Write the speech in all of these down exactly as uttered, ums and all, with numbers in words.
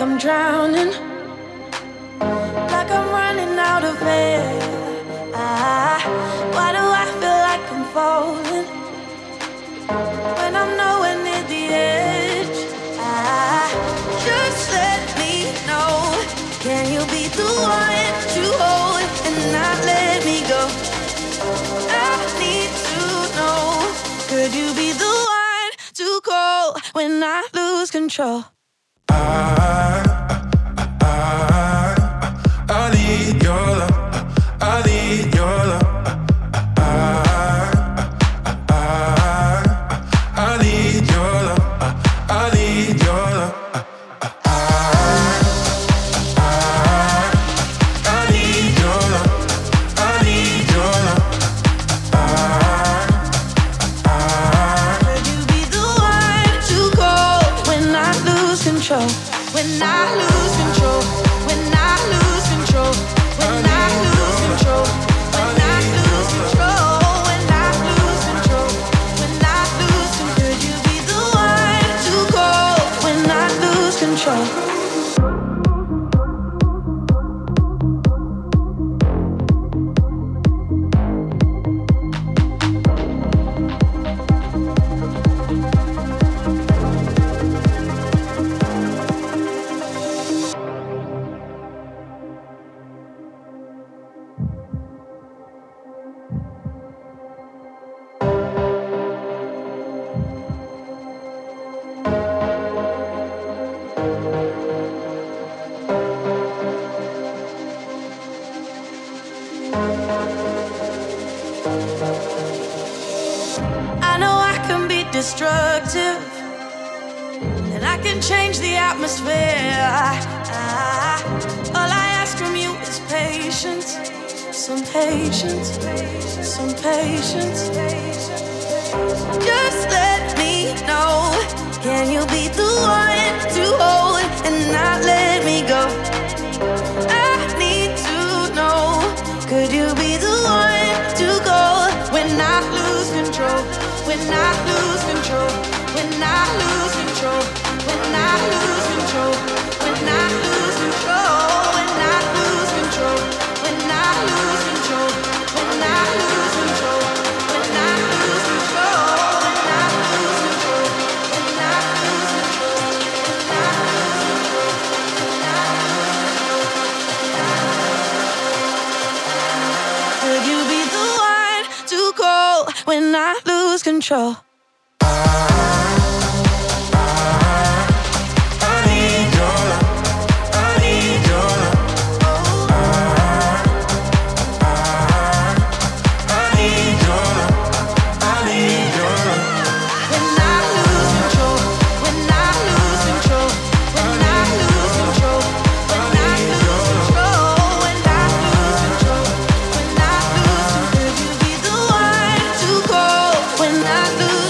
I'm drowning, like I'm running out of air. Ah, why do I feel like I'm falling when I'm nowhere near the edge? Ah, just let me know. Can you be the one to hold and not let me go? I need to know. Could you be the one to call when I lose control? I, I, I, I need your love. I need your love. I, I, I, I need your love. I need your love. When I lose control, when I lose control, when I lose control, when I lose control, when I lose control, when I lose control, could you be the one to call when I lose control? Destructive, and I can change the atmosphere. Ah, all I ask from you is patience, some patience, some patience. Just let me know. Can you be the one to hold and not let me go? I need to know. Could you be the one to go when I lose control? When I lose control, when I lose control, when I lose control, when I lose control, when I lose control, when I lose control, when I lose control, when I lose control, when I lose control, when I lose control, when I lose control. Could you be the one to call when I lose control? When I lose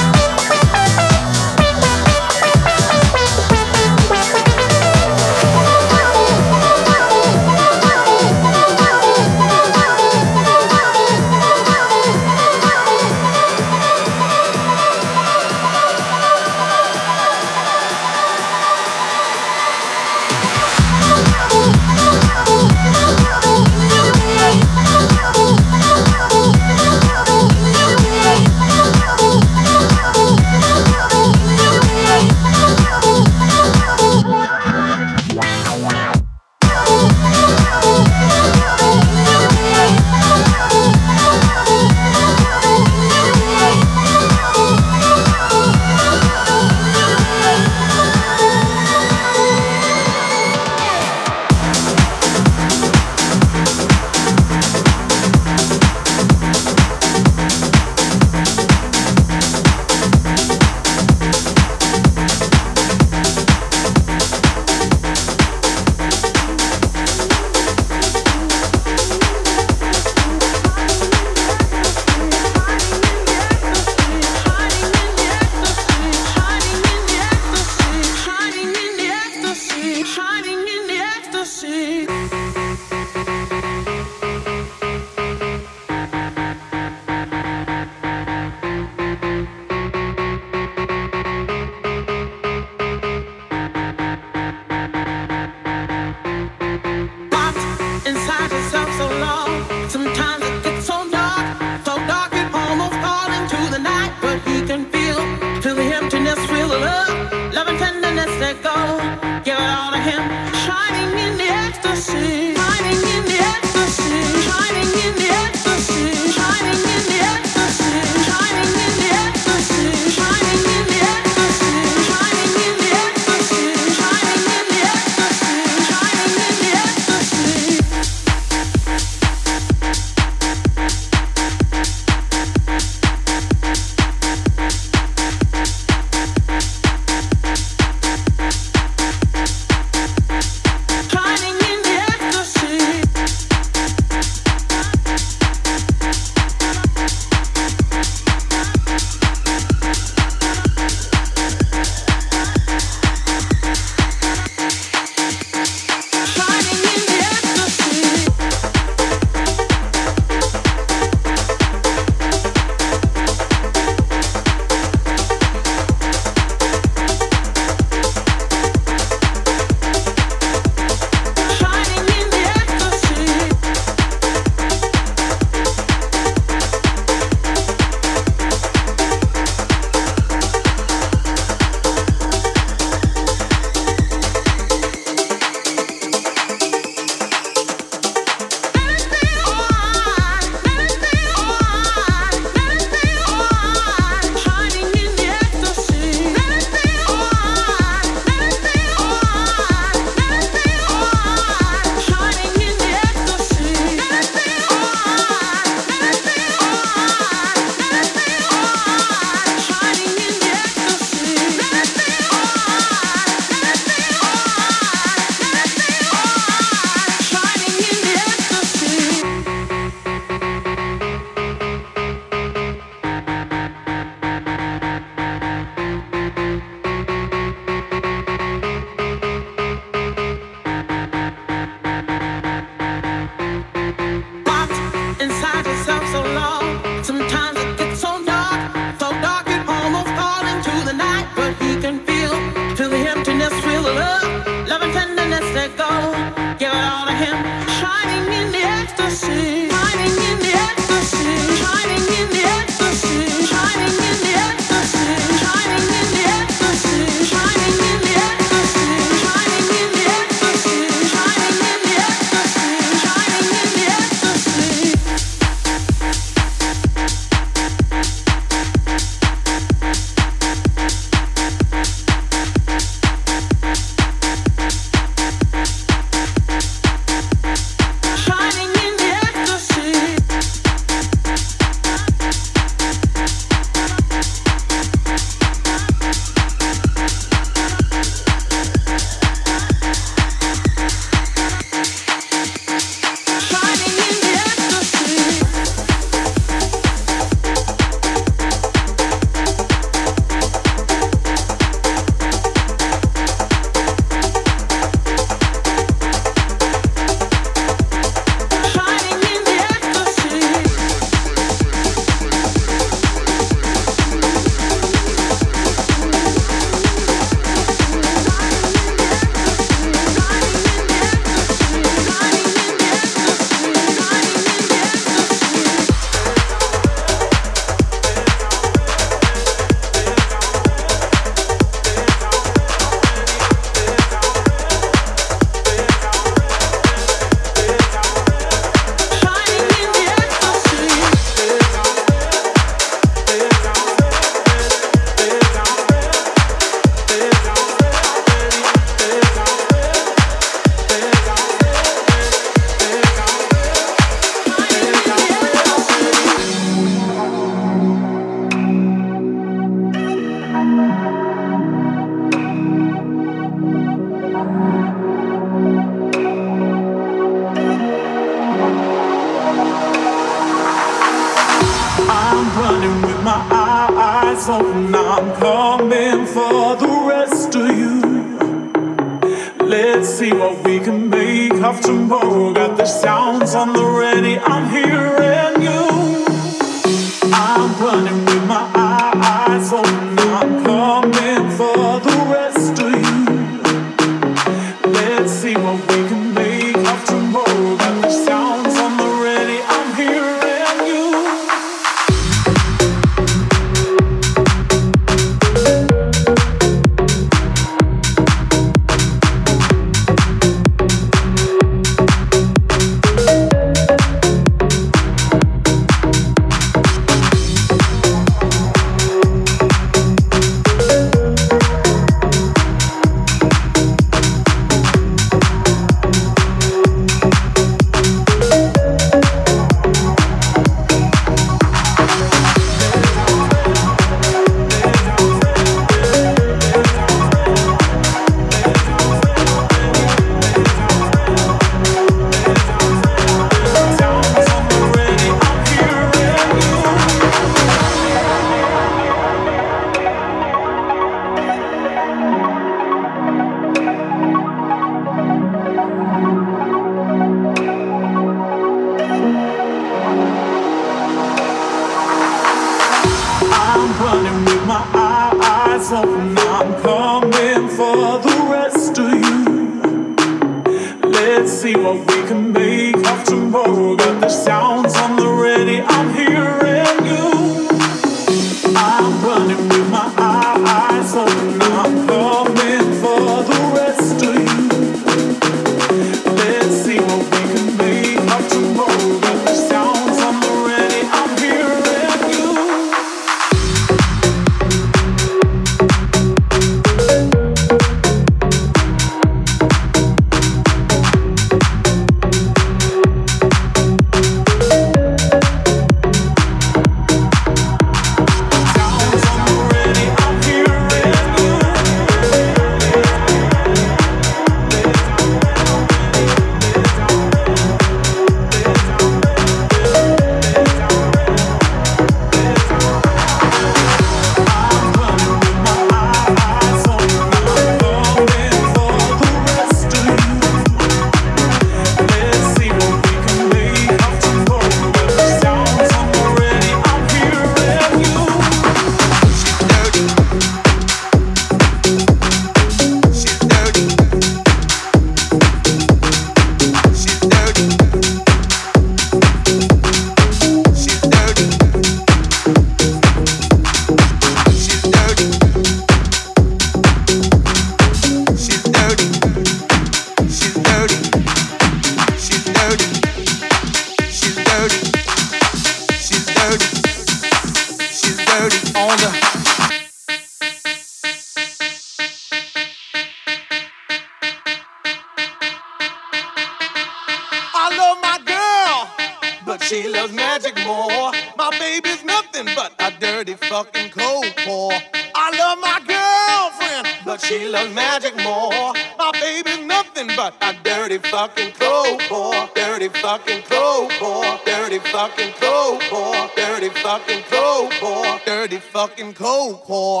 love my girl, but she loves magic more. My baby's nothing but a dirty fucking cold pour. I love my girlfriend, but she loves magic more. My baby's nothing but a dirty fucking cold pour. Dirty fucking cold pour. Dirty fucking cold pour. Dirty fucking cold pour. Dirty fucking cold pour.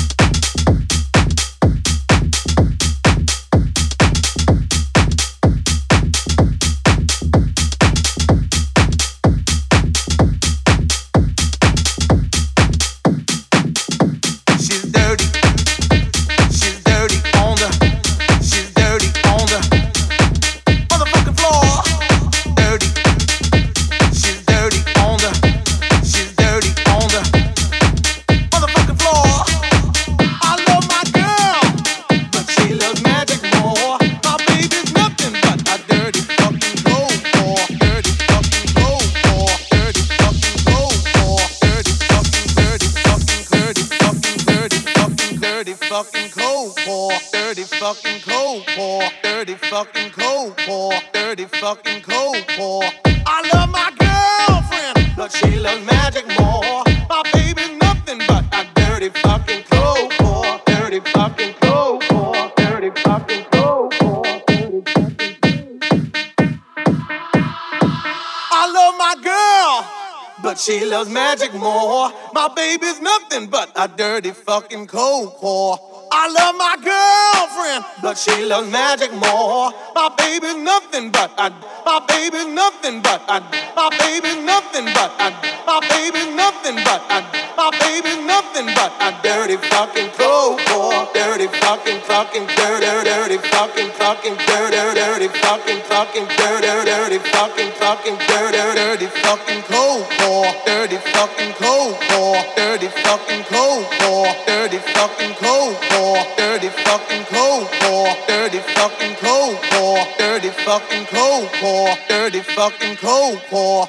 She loves magic more. My baby's nothing but a dirty fucking cold core. I love my girlfriend, but she loves magic more. My baby's nothing but a, my baby's nothing but a, my baby's nothing but a, my baby's nothing but a, my baby's nothing but a dirty fucking cold core. Dirty fucking fucking dirty dirty fucking fucking dirty dirty fucking fucking dirty dirty fucking fucking dirty dirty fucking cold core. Dirty fucking cold core. Dirty fucking cold core. Dirty fucking cold core. Dirty fucking cold core. Dirty fucking cold core. Dirty fucking cold core. Dirty fucking cold core.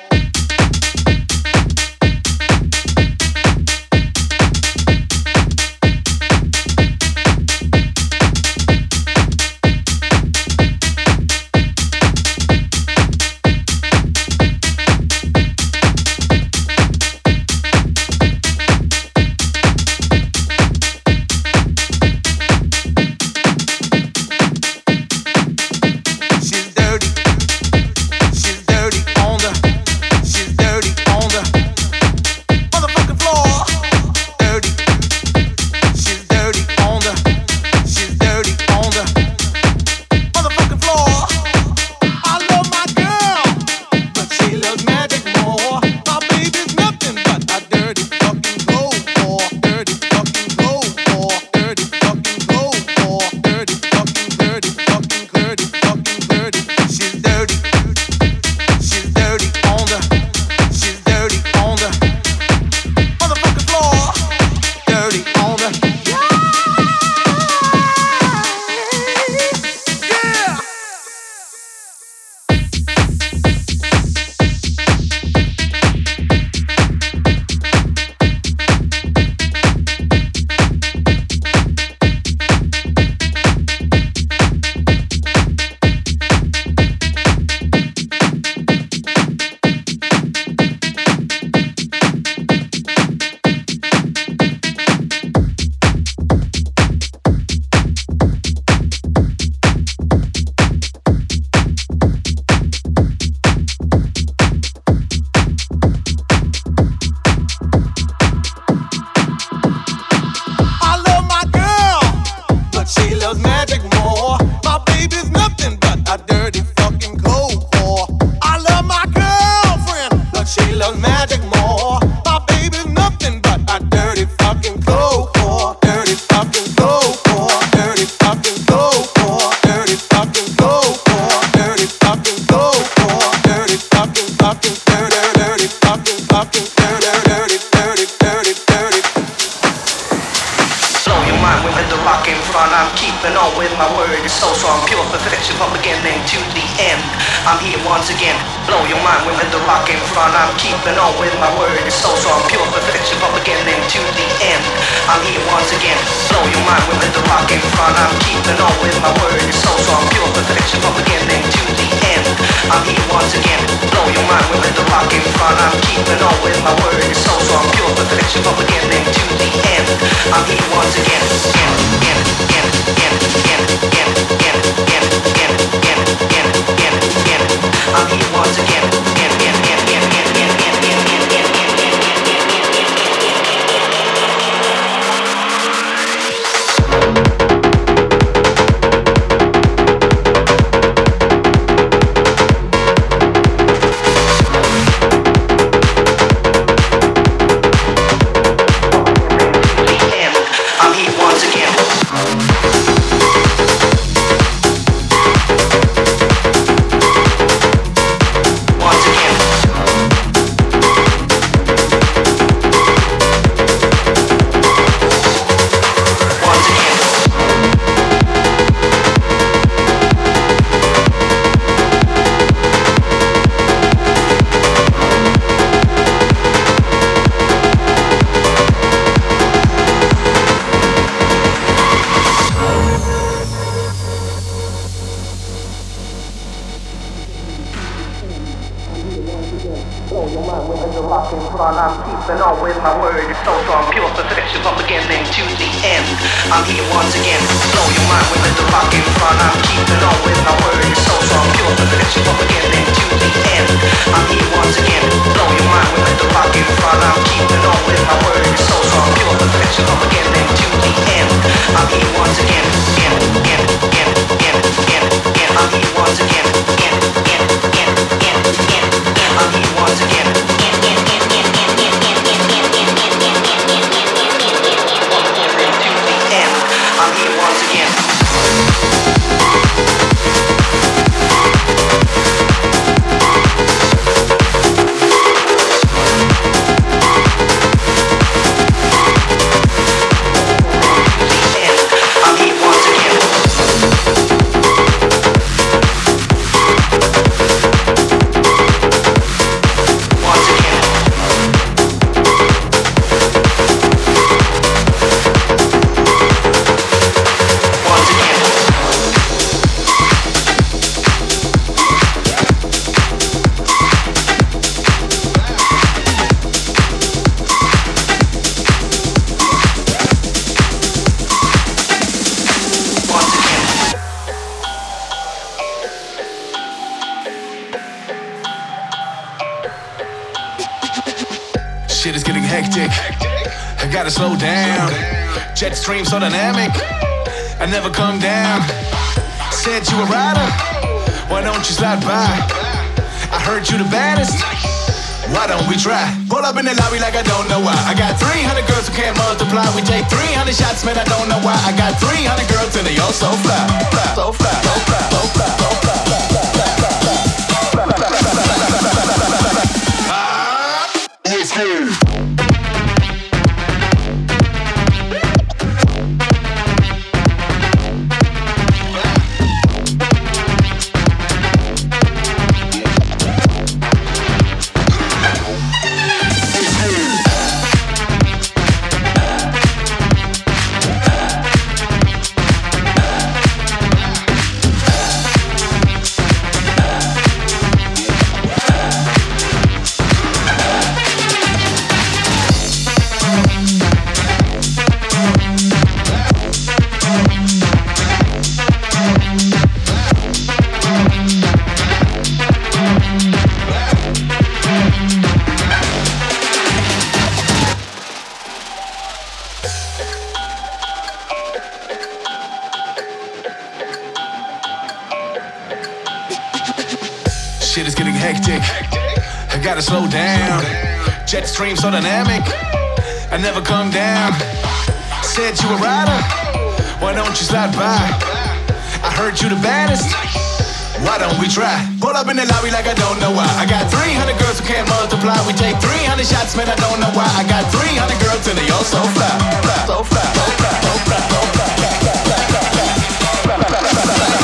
I'm here once again. mind with the rock in front. I'm keeping on with my word. It's so strong, pure perfection from beginning to the end. I'm here once again, again, again, again, again, again, again, again, again, again, again, again, again, again. I'm here once again, again, again, again, again, again, again, again, again, again, again. Shit is getting hectic. I gotta slow down. Jet stream so dynamic. I never come down. Said you a rider. Why don't you slide by? I heard you the baddest. Why don't we try? Pull up in the lobby like I don't know why. I got three hundred girls who can't multiply. We take three hundred shots, man, I don't know why. I got three hundred girls and they all so fly. Fly, so fly, so fly, so fly, so fly. Let's go. Shit is getting hectic. I gotta slow down. Jet stream so dynamic. I never come down. Said you a rider. Why don't you slide by? I heard you the baddest. Why don't we try? Pull up in the lobby like I don't know why. I got three hundred girls who can't multiply. We take three hundred shots, man, I don't know why. I got three hundred girls and they all so fly. Fly, so fly, so fly, so fly, so fly.